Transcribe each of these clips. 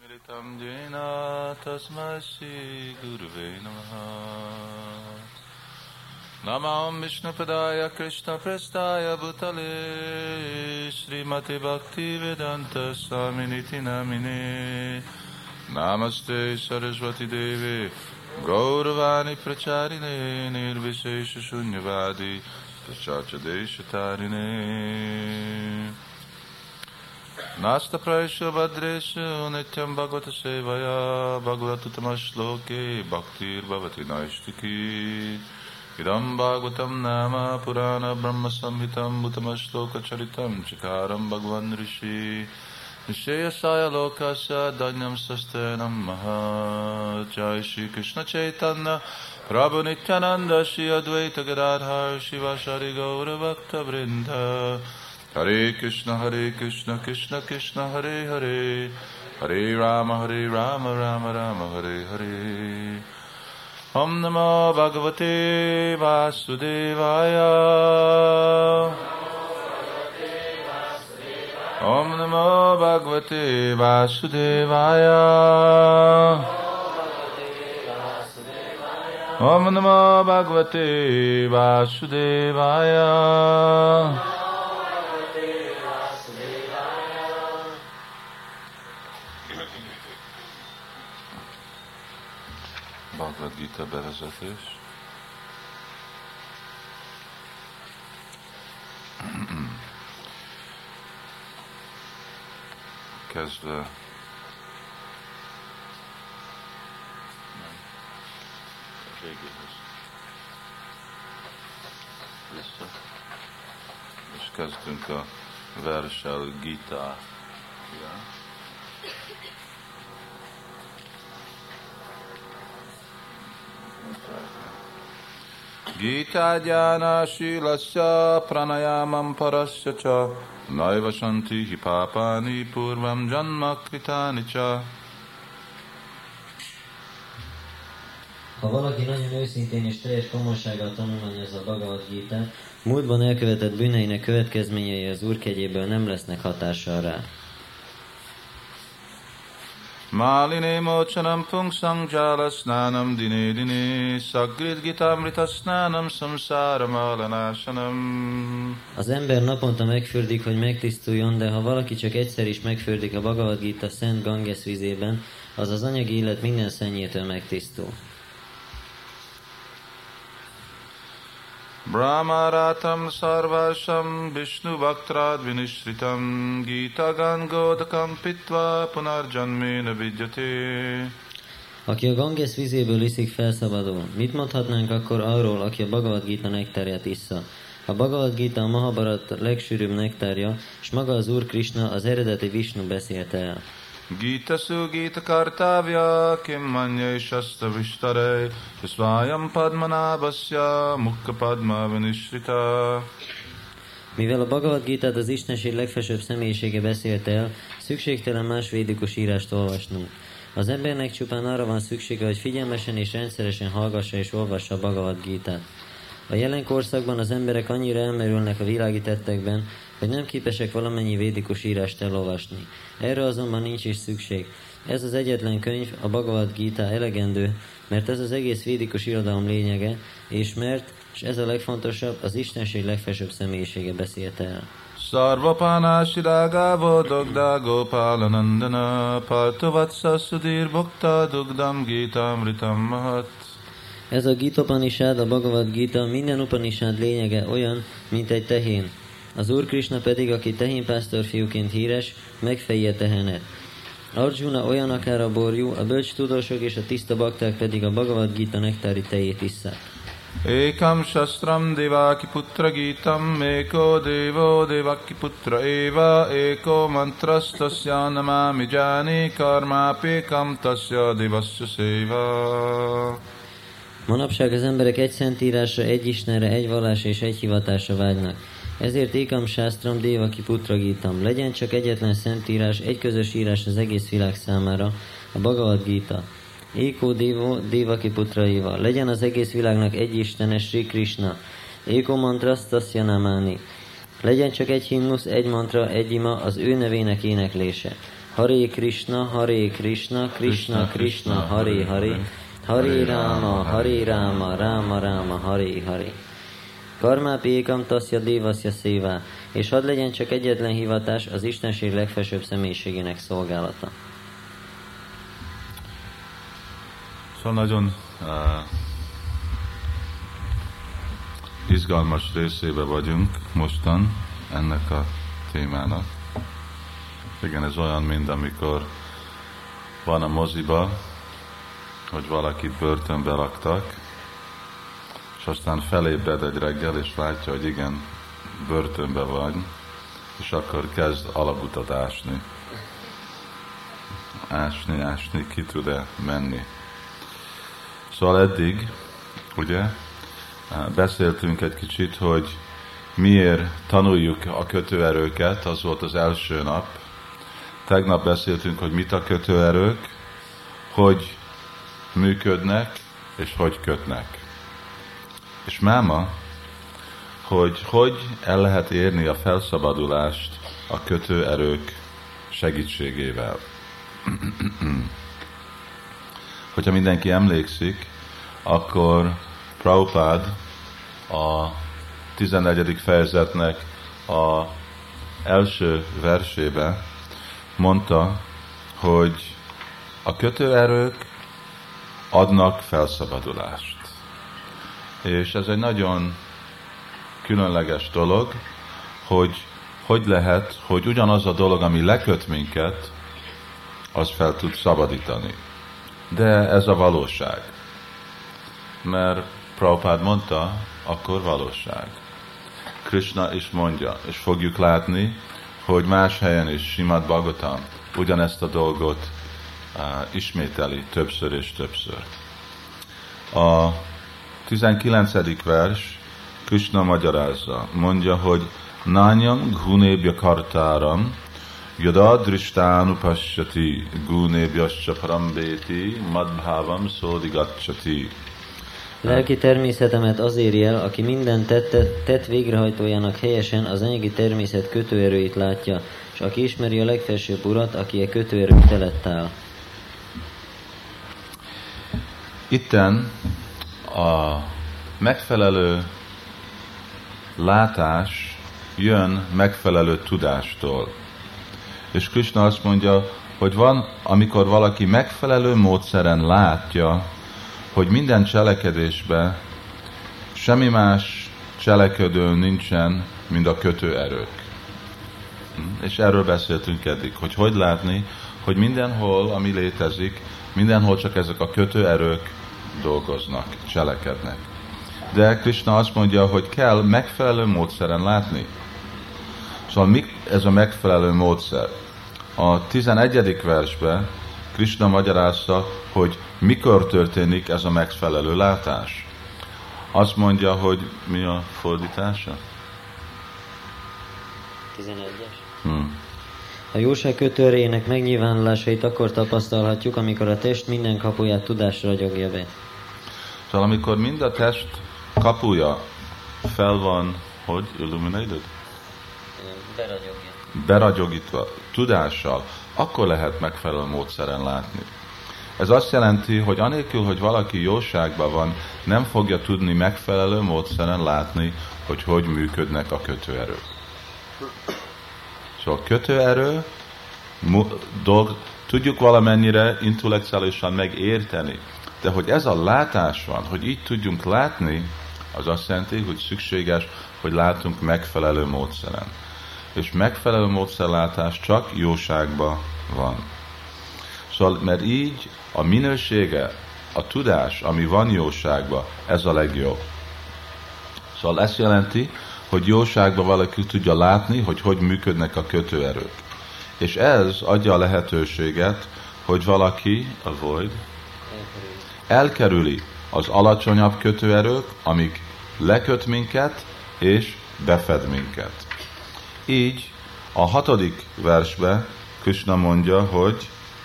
Amritam jena tasmai Shri Gurave Namaha. Namam Vishnu Padaya Krishna Prestaya Bhutale Srimati Bhakti Vedanta Swaminiti Namine. Namaste Saraswati Devi Gauravani Pracharine Nirvishesha Shunyavadi Paschatya Deshatarine Nasta Praisha Vadresha Nityam Bhagavata Sevaya Bhagavata Tamashloke Bhaktir Bhavati Naishtiki Idam Bhagavatam Nama Purana Brahma Samhitam Bhutamashloka Charitam Chikaram Bhagavan Rishi Nishayasaya Lokasya Danyam Sastenam Maha Jai Shri Krishna Chaitanya Prabhu Nityananda Shri Advaita Gadadhar Shivashari Gaura Bhakta Vrinda Hare Krishna Krishna Krishna Hare Hare Hare Rama Rama Rama Hare Hare Om Namo Bhagavate Vasudevaya Om Namo Bhagavate Vasudevaya Om Namo Bhagavate Vasudevaya Bhagavad Gita bevezetés. Kezdve végéhez vissza, és kezdünk a versel Gita. Gita jnana shilasya pranayamam parasya cha naiva shanti papani purvam janma kritani cha. Ha valaki nagyon őszintén és teljes komolysággal tanulmányozza a Bhagavad Gitát, múltban elkövetett bűneinek következményei az Úr kegyéből nem lesznek hatással rá. Maline mochanam pungsang jala snanam dine dine sagrid gitamrita snanam samsara malanasanam. Az ember naponta megfürdik, hogy megtisztuljon, de ha valaki csak egyszer is megfürdik a Bhagavad Gita szent Ganges vízében, az az anyagi élet minden szennyétől megtisztul. Brahmaratam sarvasham Vishnu bhaktrad vinishritam Gita gangodakam pitva punarjanmena vidyate. Aki a Ganges vízéből iszik, felszabadul. Mit mondhatnánk akkor arról, aki a Bhagavad Gita nektárját issza? A Bhagavad Gita a Mahabharata legsűrűbb nektárja, és maga az Úr Krishna, az eredeti Vishnu beszélte el. Gita su Gita kartavya kim manya shastra vishtare svayam padmanabhasya mukha padma vinishrita. Mivel a Bhagavad Gitát az Istenség legfelsőbb személyisége beszélte el, szükségtelen más védikus írást olvasnunk. Az embernek csupán arra van szüksége, hogy figyelmesen és rendszeresen hallgassa és olvassa a Bhagavad Gitát. A jelen korszakban az emberek annyira elmerülnek a világi tettekben, hogy nem képesek valamennyi védikus írást elolvasni. Erre azonban nincs is szükség. Ez az egyetlen könyv, a Bhagavad Gita elegendő, mert ez az egész védikus irodalom lényege, és ez a legfontosabb, az Istenség legfelsőbb személyisége beszélte el. Sarvapana shiraga vodogda gopalanandana partovatsa sudhir bhakta dugdam gita amritam mahat. Ez a Gita Upanishad, a Bhagavad Gita, minden Upanishad lényege olyan, mint egy tehén. Az Úr Krishna pedig, aki tehénpásztor fiúként híres, megfejti a tehenet. Arjuna olyan akár a borjú, a bölcs tudósok és a tiszta bakták pedig a Bhagavad Gita nektári tejét isszák. Ekam shastram devaki putra gitam, eko devo devaki putra eva, eko mantrastasya namami jani karmapekam tasya devasya seva. Manapság az emberek egy szentírásra, egy Istenre, egy vallásra és egy hivatásra vágynak. Ezért Ekam Shastram Devaki Putra Gitam. Legyen csak egyetlen szentírás, egy közös írás az egész világ számára, a Bhagavad Gita. Eko Devo Devaki Putra Eva. Legyen az egész világnak egy Istene, Sri Krishna. Eko Mantrastasya Namani. Legyen csak egy himnusz, egy mantra, egy ima, az ő nevének éneklése. Hare Krishna, Krishna Krishna, Hare Hare, Hare Rama, Rama Rama, Hare Hare. Karmápi ékam tasya dévaszya szévá, és hadd legyen csak egyetlen hivatás, az Istenség legfelsőbb személyiségének szolgálata. Szóval nagyon izgalmas részébe vagyunk mostan ennek a témának. Igen, ez olyan, mint amikor van a moziba, hogy valakit börtönbe raktak, és aztán felébred egy reggel, és látja, hogy igen, börtönbe vagy, és akkor kezd alagutat ásni. Ásni, ki tud-e menni. Szóval eddig, ugye, beszéltünk egy kicsit, hogy miért tanuljuk a kötőerőket, az volt az első nap. Tegnap beszéltünk, hogy mit a kötőerők, hogy működnek, és hogy kötnek. És máma, hogy el lehet érni a felszabadulást a kötőerők segítségével. Hogyha mindenki emlékszik, akkor Prabhupád a 14. fejezetnek a első versébe mondta, hogy a kötőerők adnak felszabadulást. És ez egy nagyon különleges dolog, hogy lehet, hogy ugyanaz a dolog, ami leköt minket, az fel tud szabadítani. De ez a valóság. Mert Prabhupád mondta, akkor valóság. Krishna is mondja, és fogjuk látni, hogy más helyen is Srimad Bhagavatam ugyanezt a dolgot ismételi többször és többször. A 19. vers Krishna magyarázza, mondja, hogy Nányam gunebya kartáram yada drishtánupassati gunebhyascha parambéti madbhávam szódigatcsati. Lelki természetemet azért jel, aki minden tett végrehajtójának helyesen az anyagi természet kötőerőit látja, és aki ismeri a legfelsőbb urat, aki a kötőerők felett áll. Itten a megfelelő látás jön megfelelő tudástól. És Krishna azt mondja, hogy van, amikor valaki megfelelő módszeren látja, hogy minden cselekedésben semmi más cselekedő nincsen, mint a kötőerők. És erről beszéltünk eddig, hogy látni, hogy mindenhol, ami létezik, mindenhol csak ezek a kötőerők dolgoznak, cselekednek. De Krishna azt mondja, hogy kell megfelelő módszeren látni. Szóval mi ez a megfelelő módszer? A 11. versben Krishna magyarázza, hogy mikor történik ez a megfelelő látás. Azt mondja, hogy mi a fordítása? 11-es. A jóság kötőerejének megnyilvánulásait akkor tapasztalhatjuk, amikor a test minden kapuját tudás ragyogja be. Szóval amikor mind a test kapuja fel van, hogy illuminated? Beragyogítva, tudással, akkor lehet megfelelő módszeren látni. Ez azt jelenti, hogy anélkül, hogy valaki jóságban van, nem fogja tudni megfelelő módszeren látni, hogy működnek a kötőerők. Szóval kötőerő, tudjuk valamennyire intellektuálisan megérteni, de hogy ez a látás van, hogy így tudjunk látni, az azt jelenti, hogy szükséges, hogy látunk megfelelő módszeren. És megfelelő módszerlátás csak jóságban van. Szóval, mert így a minősége, a tudás, ami van jóságban, ez a legjobb. Szóval ezt jelenti, hogy jóságban valaki tudja látni, hogy működnek a kötőerők. És ez adja a lehetőséget, hogy valaki elkerüli az alacsonyabb kötőerők, amik leköt minket és befed minket. Így a 6. versben Krishna mondja, hogy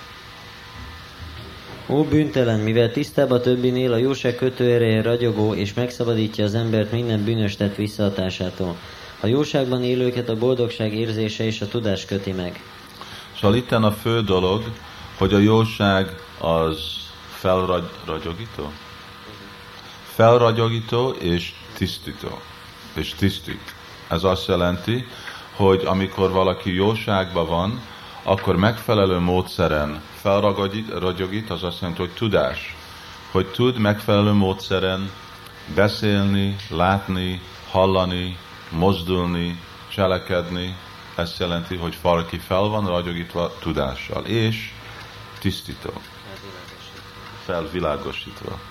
Ó bűntelen, mivel tisztább a többinél, a jóság kötőereje ragyogó, és megszabadítja az embert minden bűnös tett visszahatásától. A jóságban élőket a boldogság érzése és a tudás köti meg. Szóval itten a fő dolog, hogy a jóság az felragyogító? Felragyogító és tisztító. És tisztít. Ez azt jelenti, hogy amikor valaki jóságban van, akkor megfelelő módszeren felragyogít, az azt jelenti, hogy tudás. Hogy tud megfelelő módszeren beszélni, látni, hallani, mozdulni, cselekedni. Ezt jelenti, hogy valaki fel van ragyogítva tudással. És tisztító. Felvilágosítva.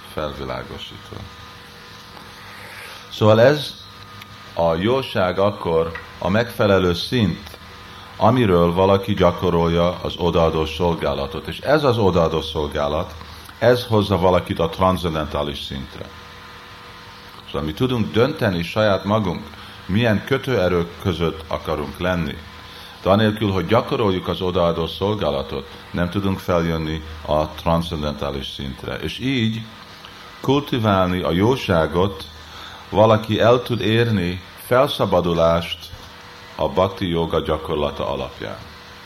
Szóval ez a jóság akkor a megfelelő szint, amiről valaki gyakorolja az odaadó szolgálatot. És ez az odaadó szolgálat, ez hozza valakit a transzendentális szintre. Szóval mi tudunk dönteni saját magunk, milyen kötőerők között akarunk lenni. De anélkül, hogy gyakoroljuk az odaadó szolgálatot, nem tudunk feljönni a transzendentális szintre. És így kultiválni a jóságot, valaki el tud érni felszabadulást a bhakti jóga gyakorlata alapján.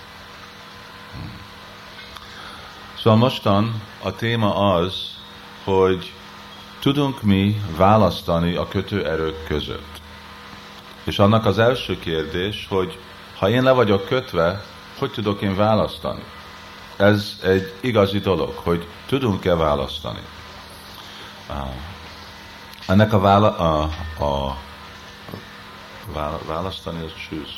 Szóval mostan a téma az, hogy tudunk mi választani a kötőerők között. És annak az első kérdés, hogy ha én le vagyok kötve, hogy tudok én választani? Ez egy igazi dolog, hogy tudunk-e választani. Ennek választani az choose.